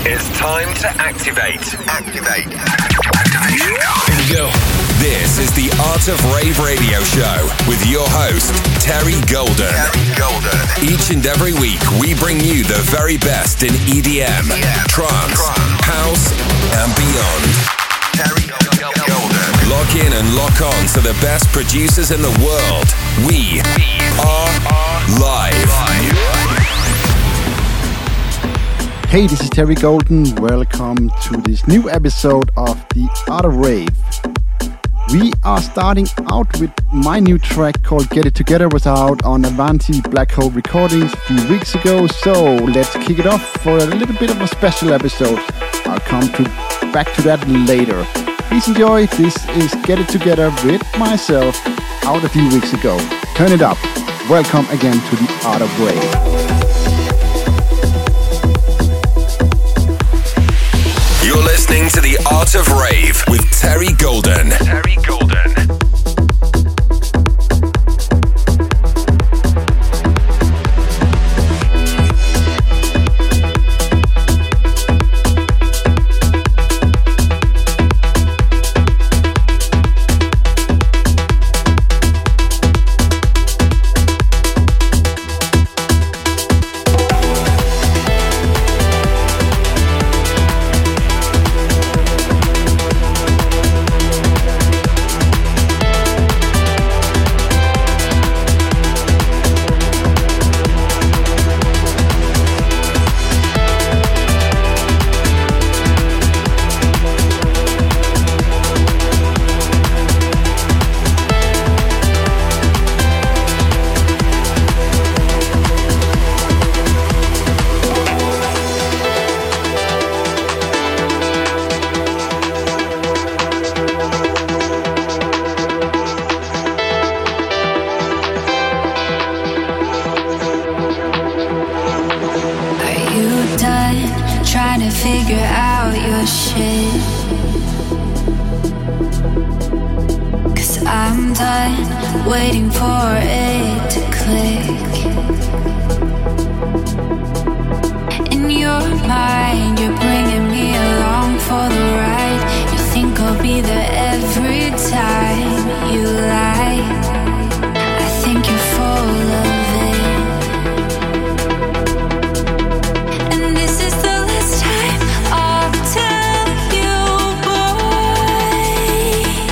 It's time to activate. Activation code. Here we go. This is the Art of Rave radio show with your host, Terry Golden. Each and every week, we bring you the very best in EDM, trance, house, and beyond. Terry Golden. Lock in and lock on to the best producers in the world. We are live. Hey, this is Terry Golden. Welcome to this new episode of the Art of Rave. We are starting out with my new track called Get It Together, was out on Avanti Black Hole Recordings a few weeks ago. So let's kick it off for a little bit of a special episode. I'll come back to that later. Please enjoy. This is Get It Together with myself out a few weeks ago. Turn it up. Welcome again to the Art of Rave. You're listening to The Art of Rave with Terry Golden. Terry Golden.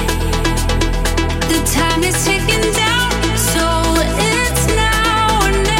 Time is ticking down, so it's now or never.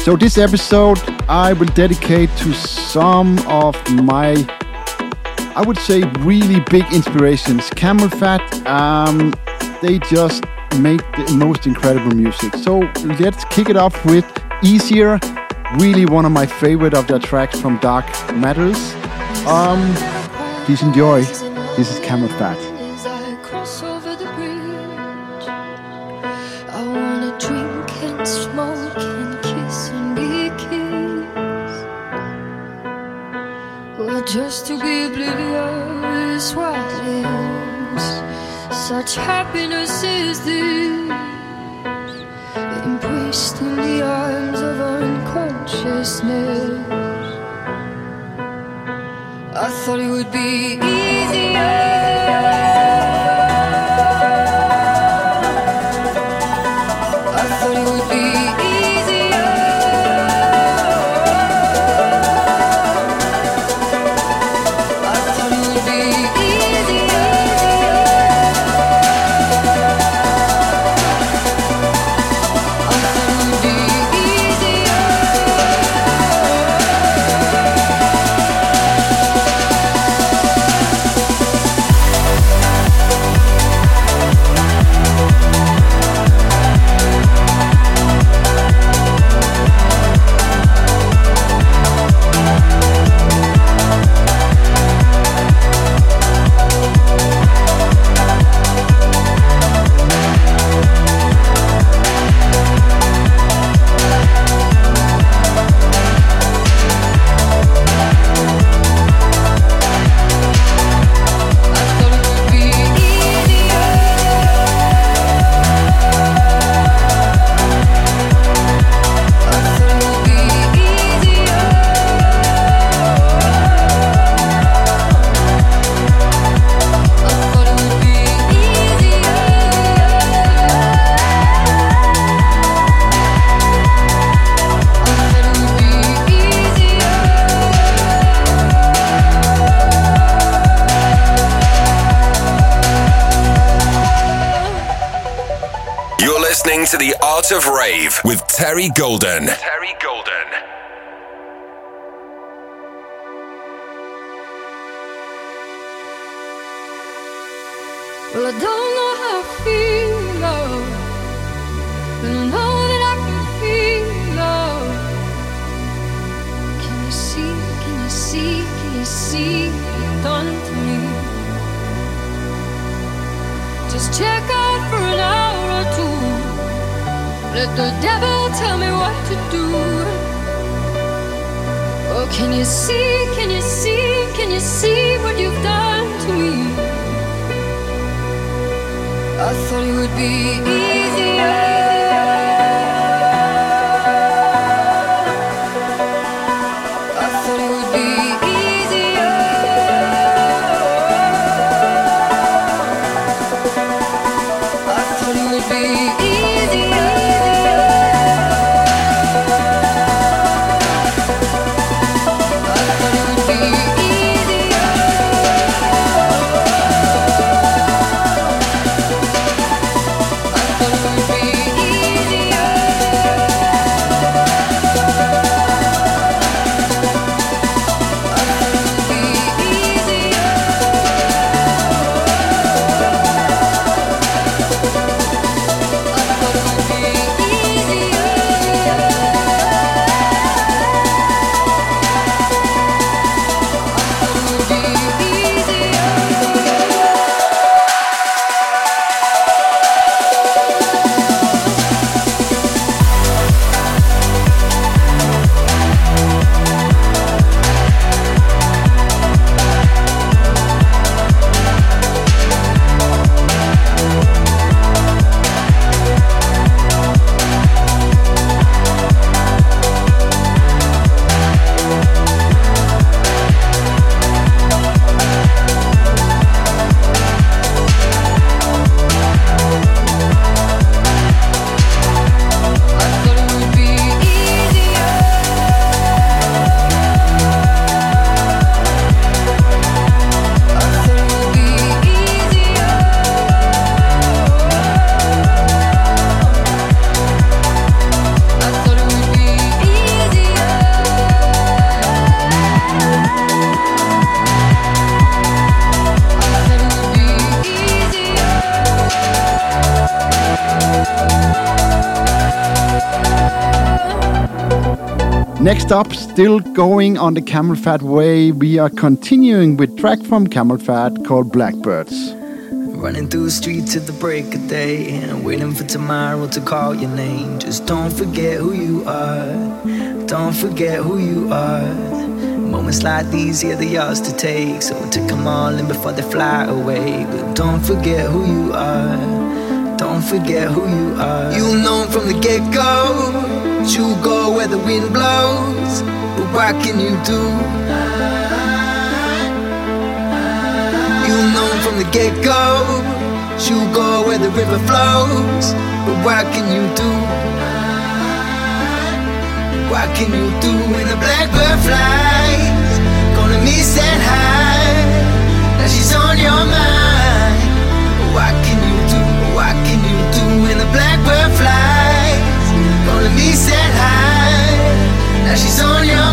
So this episode I will dedicate to some of my, I would say, really big inspirations. Camel Fat, they just make the most incredible music. So let's kick it off with Easier, really one of my favorite of their tracks from Dark Matters. Please enjoy. This is Camel Fat. Just to be oblivious what is. Such happiness is this, embraced in the arms of unconsciousness. I thought it would be easier. To the Art of Rave with Terry Golden. Terry Golden. Well, I don't know how I feel, love, but I know that I can feel love. Can you see, can you see, can you see what you've done to me? Just check out for an hour or two. Let the devil tell me what to do. Oh, can you see, can you see, can you see what you've done to me? I thought it would be easier. Next up, still going on the Camel Fat way, we are continuing with track from Camel Fat called Blackbirds. Running through the streets at the break of day and waiting for tomorrow to call your name. Just don't forget who you are. Don't forget who you are. Moments like these, yeah, they're yours to take. So take them all in before they fly away. But don't forget who you are. Don't forget who you are. You'll know from the get-go. You'll go where the wind blows. But what can you do? You'll know from the get-go. You'll go where the river flows. But what can you do? What can you do when the blackbird flies? Gonna miss that high. Now she's on your mind. What can you do? What can you do when the blackbird flies? Gonna miss that high. Now she's on your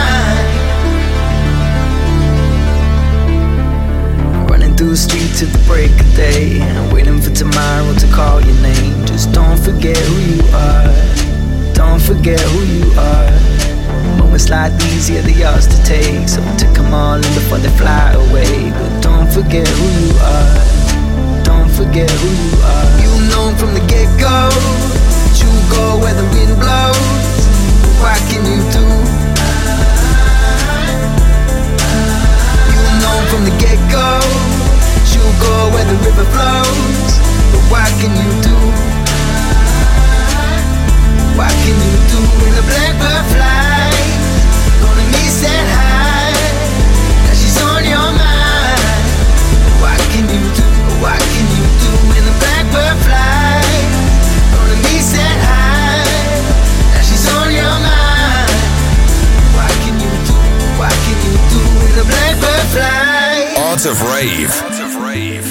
mind. Running through the streets at the break of day and waiting for tomorrow to call your name. Just don't forget who you are. Don't forget who you are. Moments like these, yeah, they're yours to take. So take them all in before they fly away. But don't forget who you are. Don't forget who you are. You'll know from the get-go. You'll go where the wind blows. But what can you do? You'll know from the get-go. You'll go where the river flows. But what can you do? What can you do when the blackbird flies? Gonna miss that high. Now she's on your mind. What can you do? What can you do when the blackbird flies? Gonna miss that high. Now she's on your mind. What can you do? What can you do when the blackbird flies? Art of Rave. Art of Rave.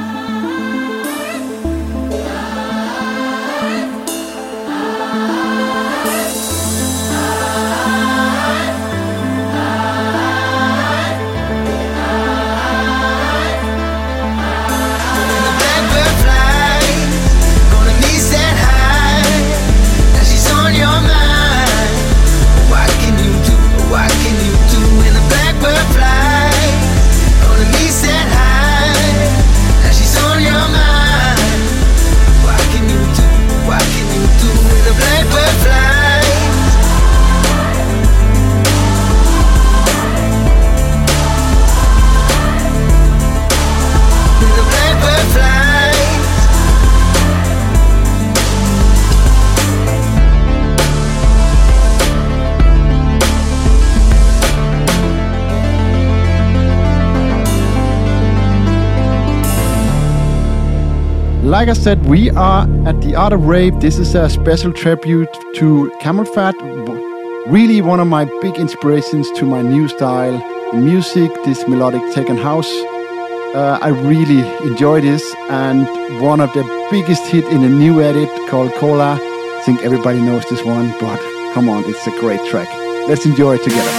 Like I said, we are at the Art of Rave. This is a special tribute to Camel Fat. Really one of my big inspirations to my new style in music, this melodic tech and house. I really enjoy this, and one of the biggest hit in a new edit called Cola. I think everybody knows this one, but come on, it's a great track. Let's enjoy it together.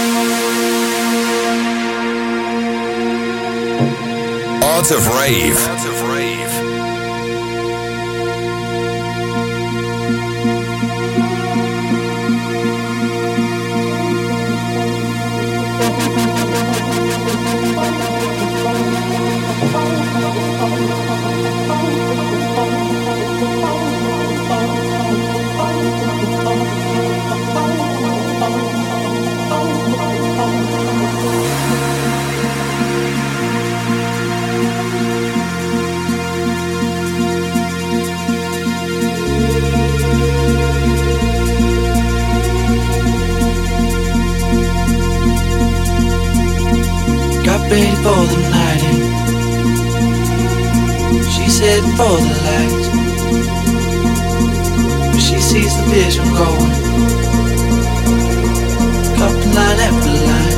Art of Rave. Art of Rave. Ready for the night in. She's heading for the lights, but she sees the vision going, cupping line after line.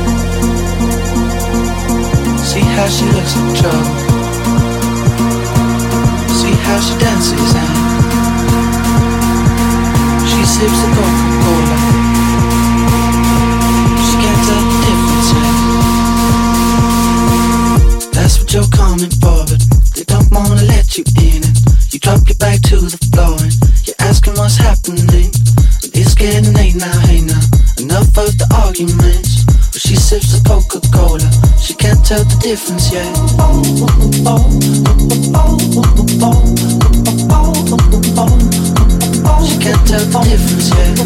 See how she looks in trouble, see how she dances and she sips the Coca-Cola. She can't tell the difference yet. That's what you're coming for, but they don't wanna let you in. And you drop your back to the floor and you're asking what's happening. And it's getting late now, hey now. Enough of arguments. But she sips the Coca-Cola, she can't tell the difference yet. She can't tell the difference yet.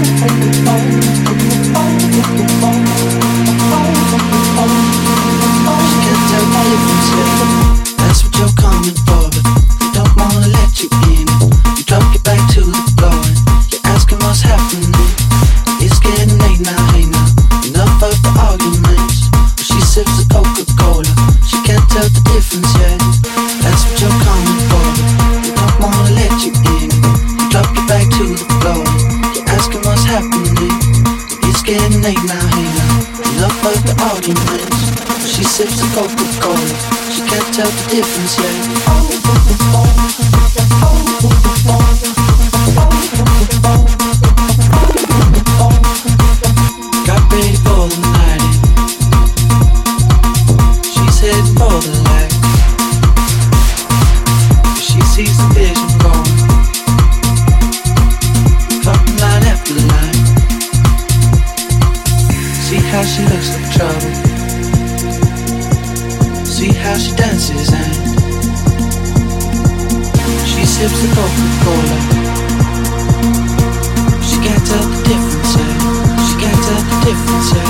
She can't tell the difference yet. That's what you're coming for, but they don't wanna let you in. You drop your back to the floor and you're asking what's happening. It's getting late now, hey now. Enough of the arguments. But she sips the Coca-Cola, she can't tell the difference yet. That's what you're coming for, but they don't wanna let you in. You drop your back to the floor, you're asking what's happening. It's getting late now, hey now. Enough of the arguments. She sips the Coca-Cola, she can't tell the difference yet. Got ready for the night in. She's heading for the light. She sees the vision going, clocking line after line. See how she looks like trouble. See how she dances and she sips the Coca-Cola. She can't tell the difference yet. She can't tell the difference yet.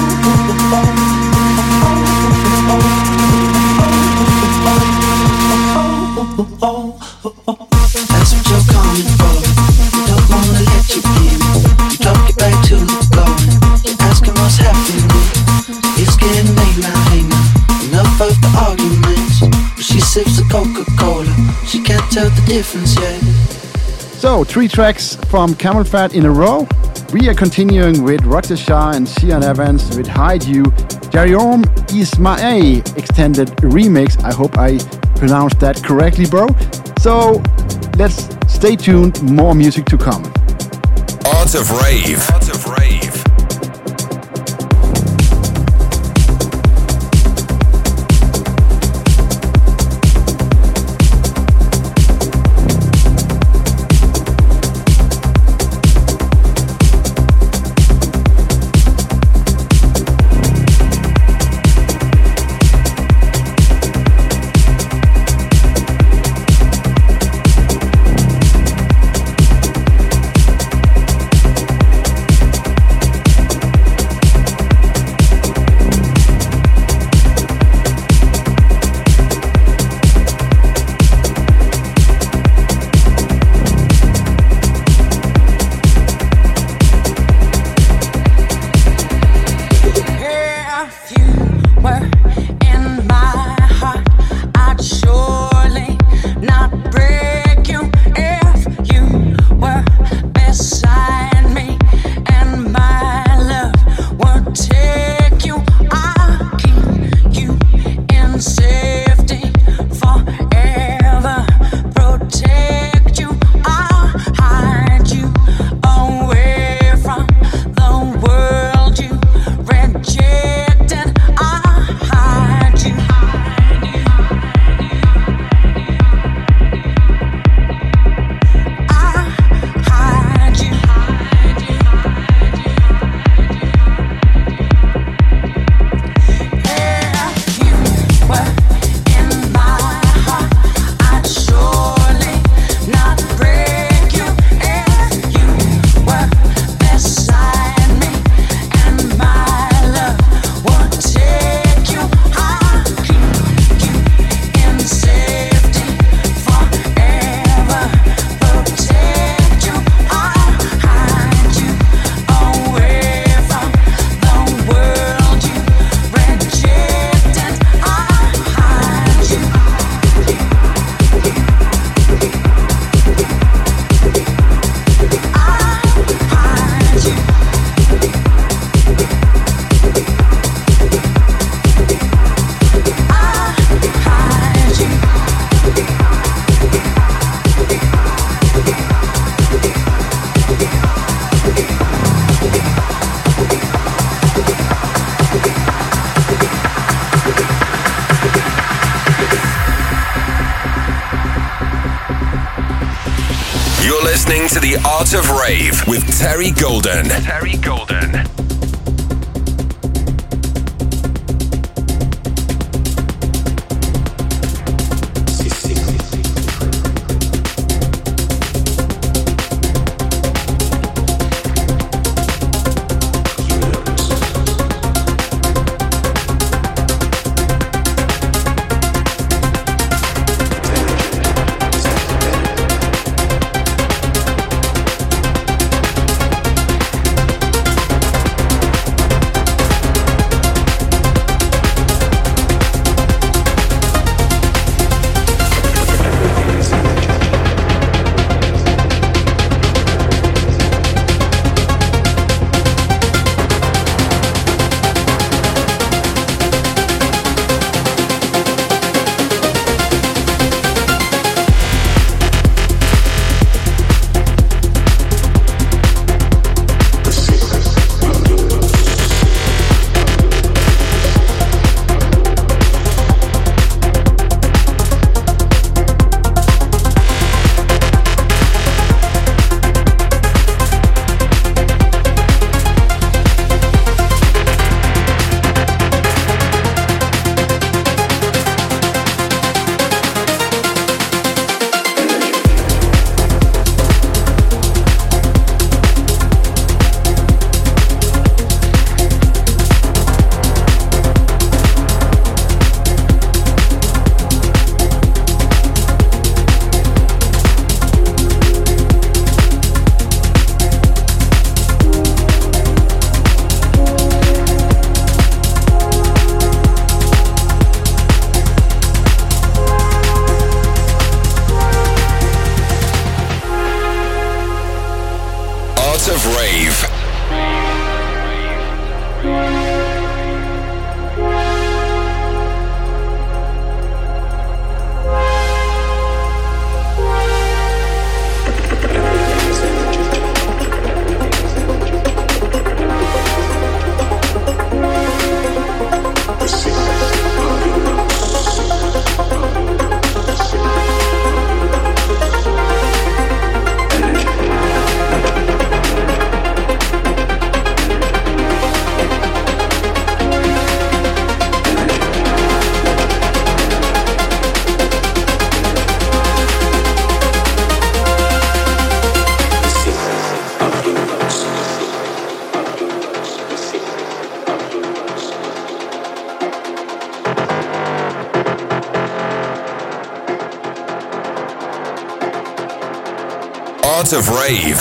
That's what you're coming for. They don't wanna let you in. You drop your back to the floor and you're asking what's happening. It's getting late now, hey now. Enough of the arguments. But she sips the Coca-Cola, she can't tell the difference yet. So, 3 tracks from Camel Fat in a row. We are continuing with Roger Shah and Sian Evans with Hide You, Jariom Ismail extended remix. I hope I pronounced that correctly, bro. So, let's stay tuned, more music to come. Art of Rave. Art of Rave. listening to The Art of Rave with Terry Golden. Terry Golden. Art of Rave.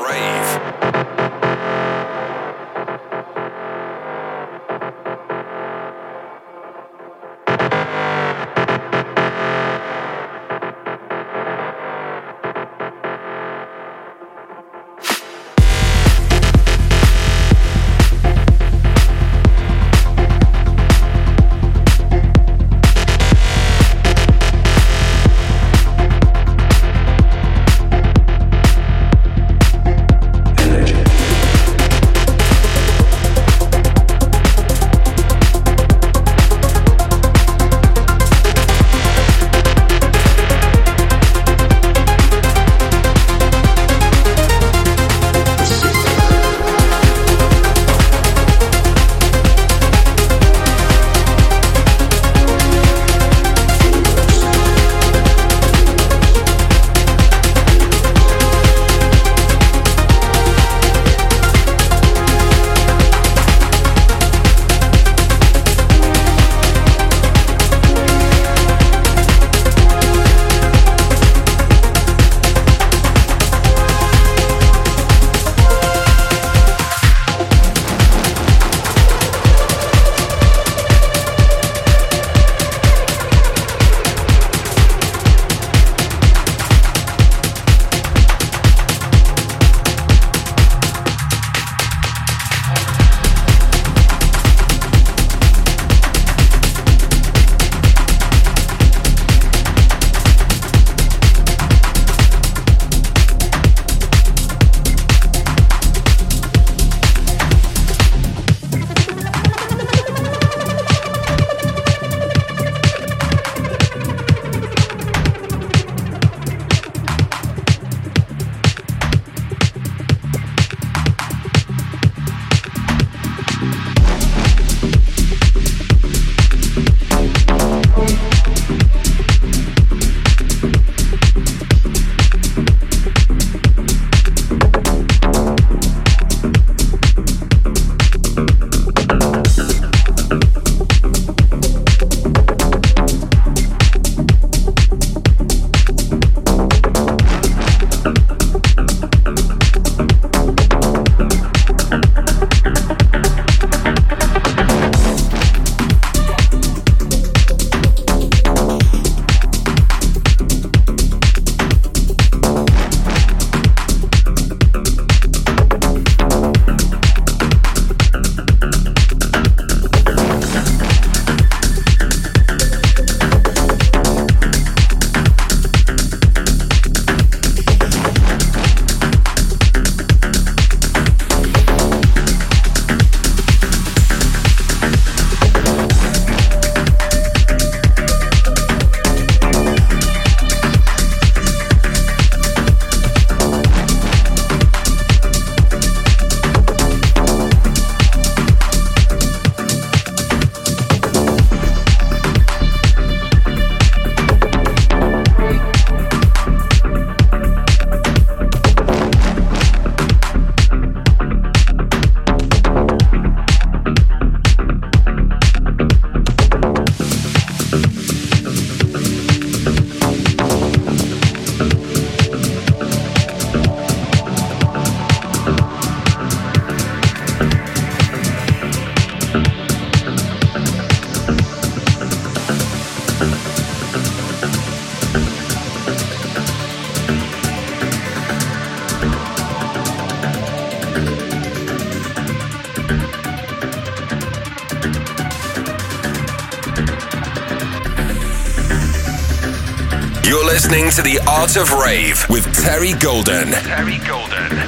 You're listening to The Art of Rave with Terry Golden. Terry Golden.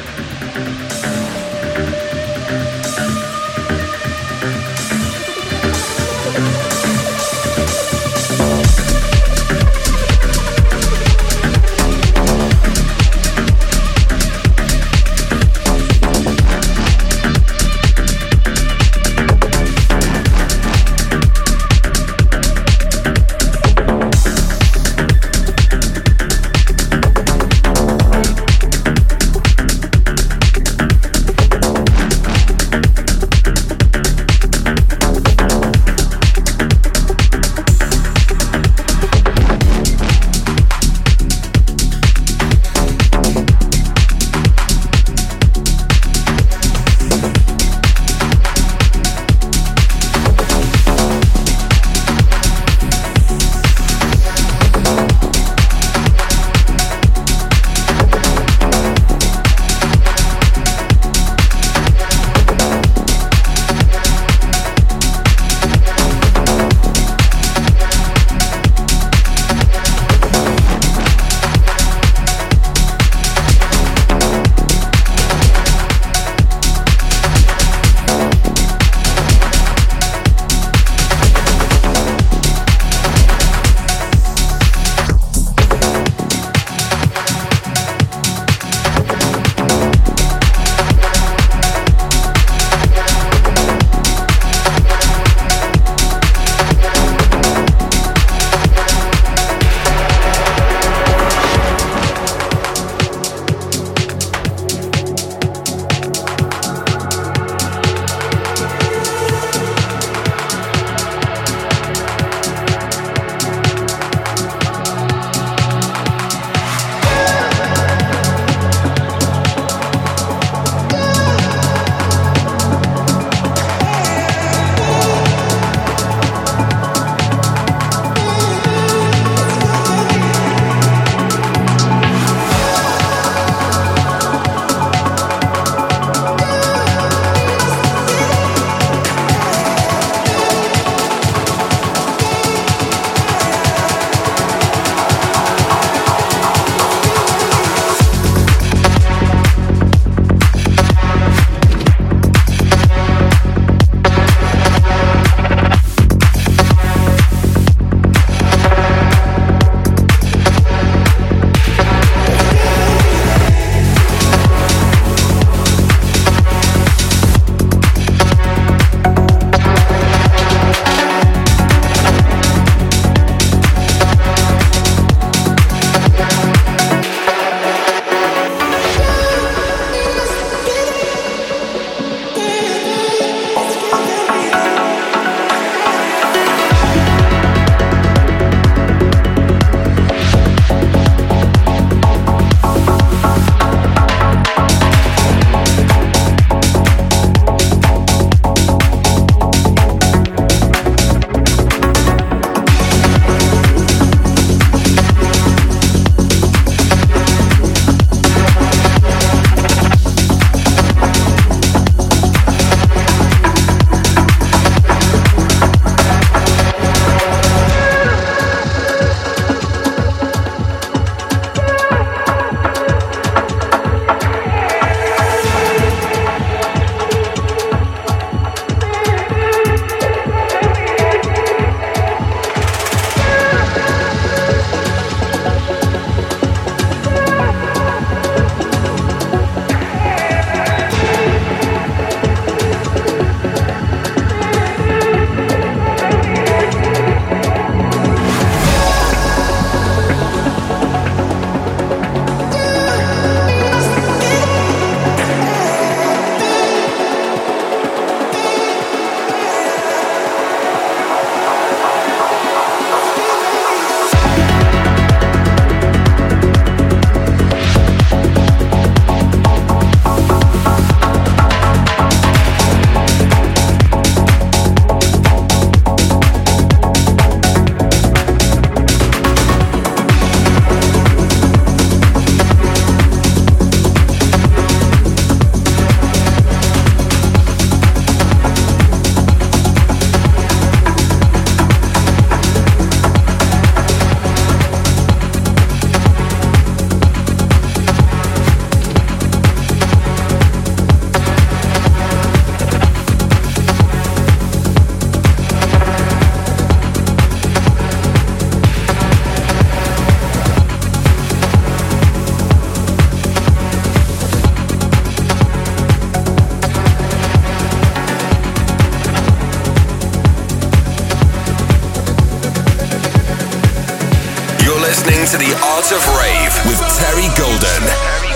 listening to The Art of Rave with Terry Golden.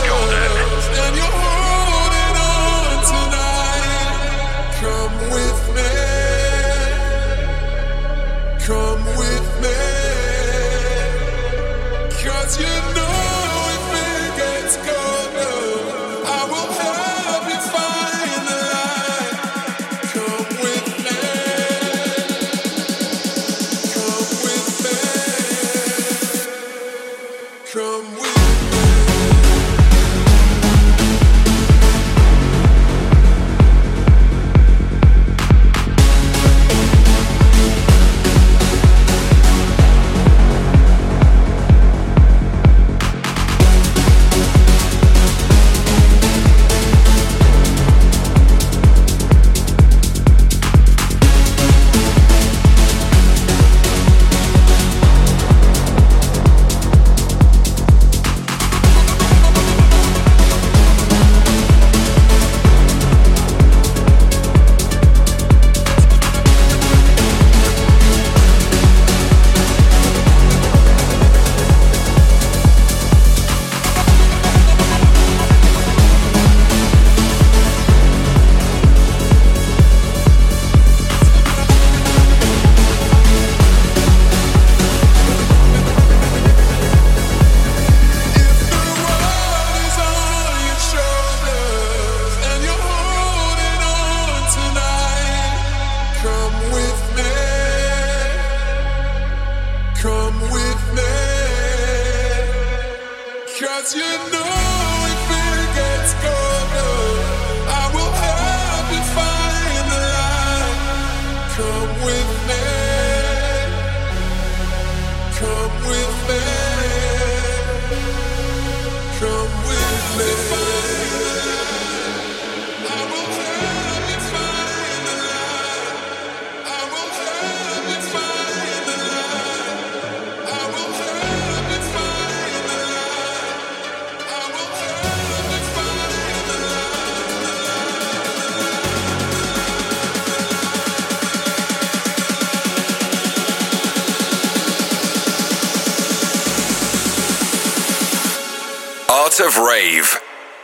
Of Rave.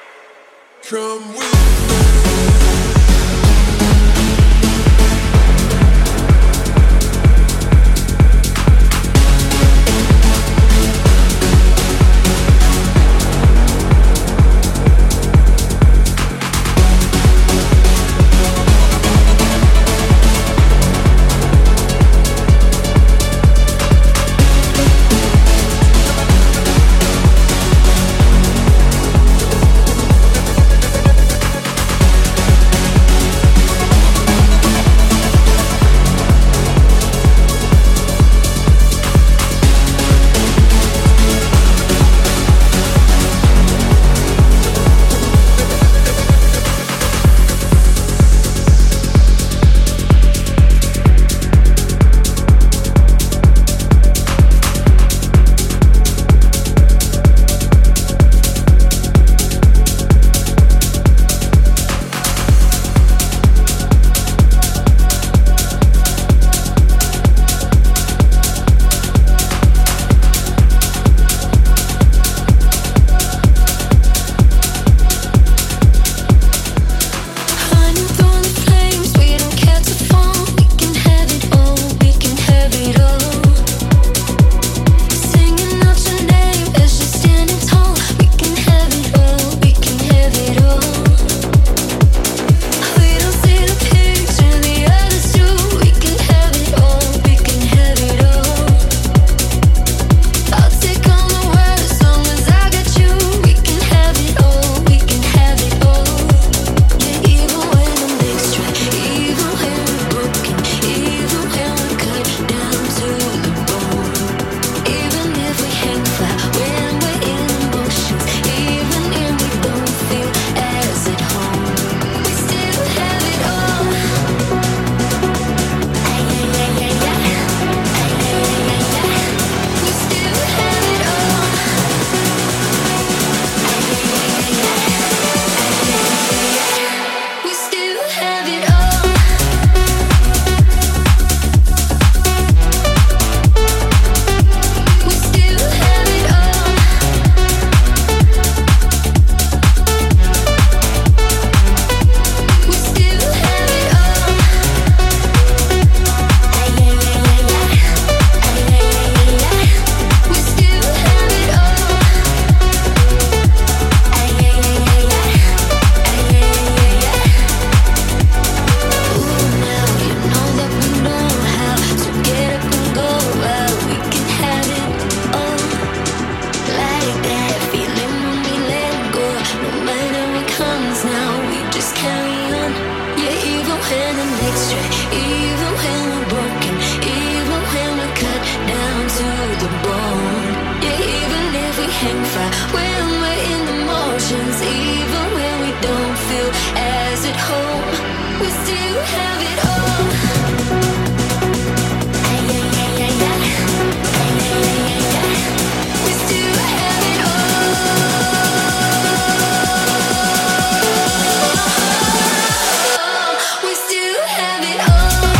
Come with hang fire when we're in the motions. Even when we don't feel as at home, we still have it all. We still have it all. We still have it all.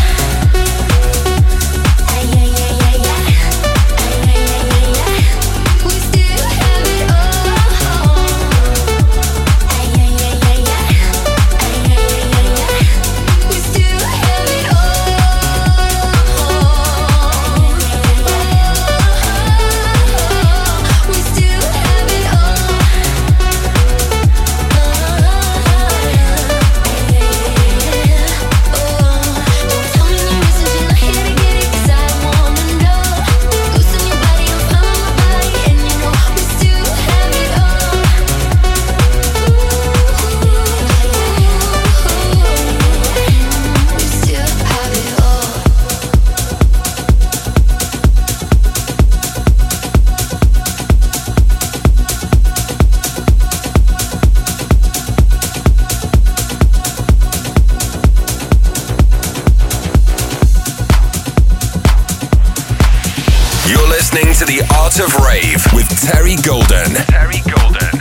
To the Art of Rave with Terry Golden. Terry Golden.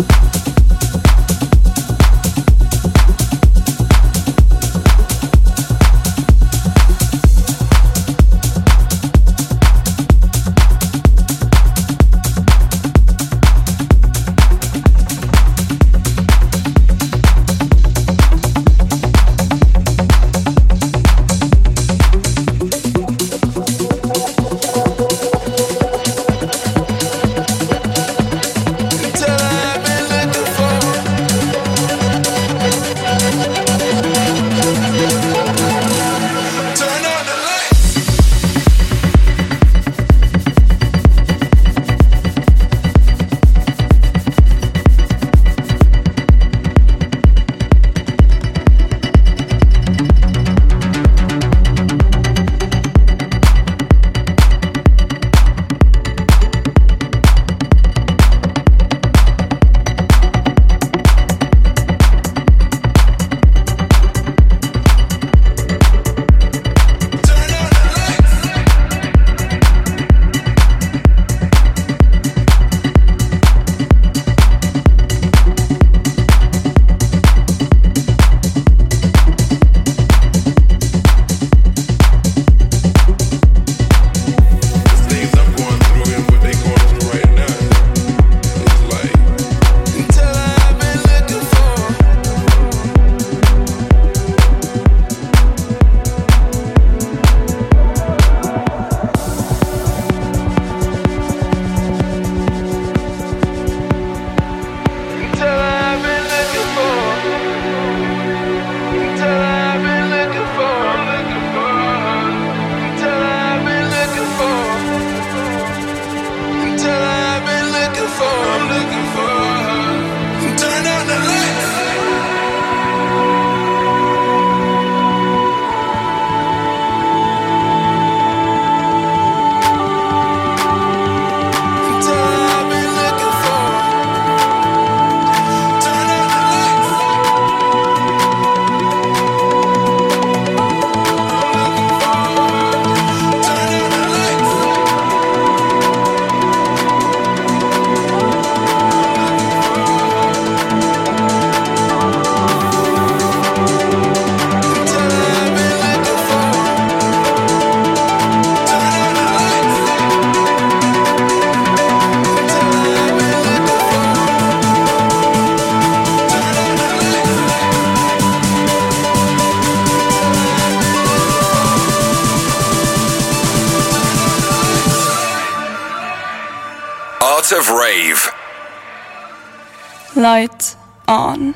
Of Rave. Light on.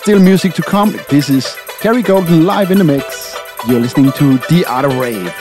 Still music to come. This is Terry Golden live in the mix. You're listening to The Art of Rave.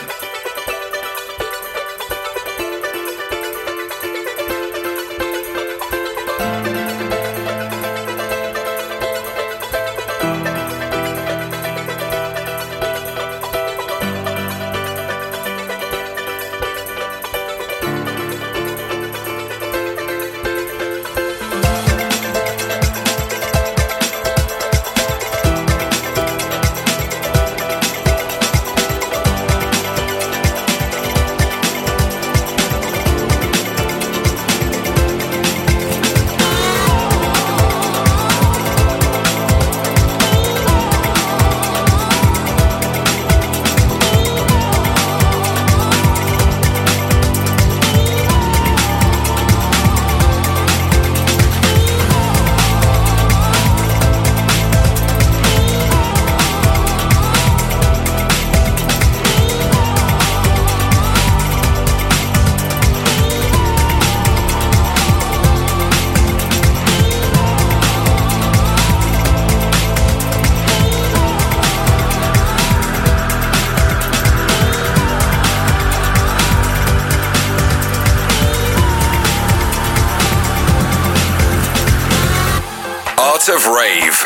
Of Rave.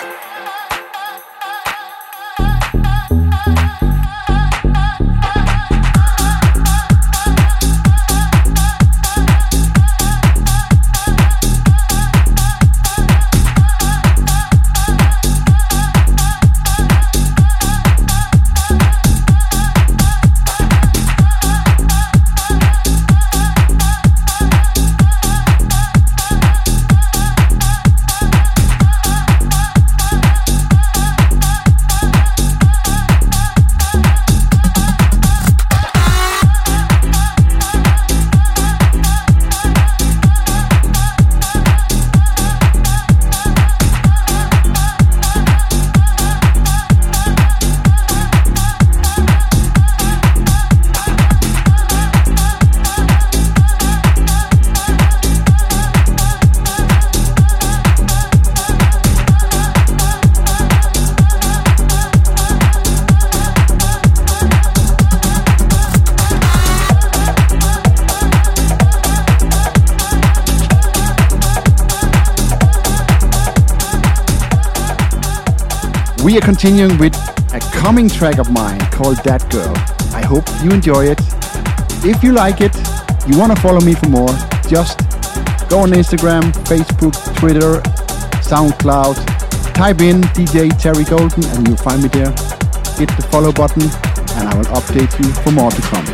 We are continuing with a coming track of mine called That Girl. I hope you enjoy it. If you like it, you want to follow me for more, just go on Instagram, Facebook, Twitter, SoundCloud, type in DJ Terry Golden and you'll find me there. Hit the follow button and I will update you for more to come.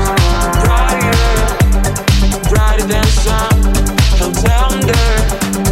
Brighter than the sun, held tender.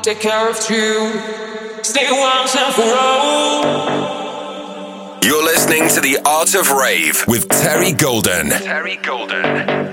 take care of two, stay once and for all. You're listening to The Art of Rave with Terry Golden. Terry Golden.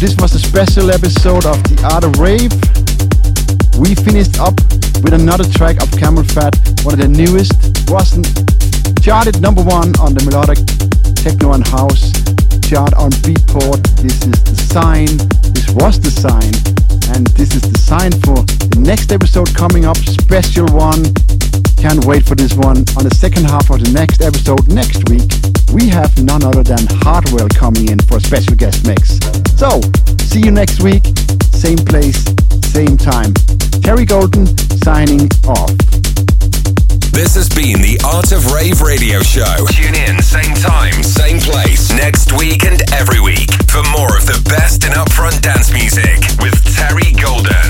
this was a special episode of The Art of Rave. We finished up with another track of Camel Fat, one of the newest. Wasn't charted number 1 on the melodic techno and house chart on Beatport. This is the sign. This was the sign. And this is the sign for the next episode coming up. Special one. Can't wait for this one. On the second half of the next episode next week, we have none other than Hardwell coming in for a special guest mix. So, see you next week. Same place, same time. Terry Golden signing off. This has been the Art of Rave radio show. Tune in, same time, same place, next week and every week for more of the best in upfront dance music with Terry Golden.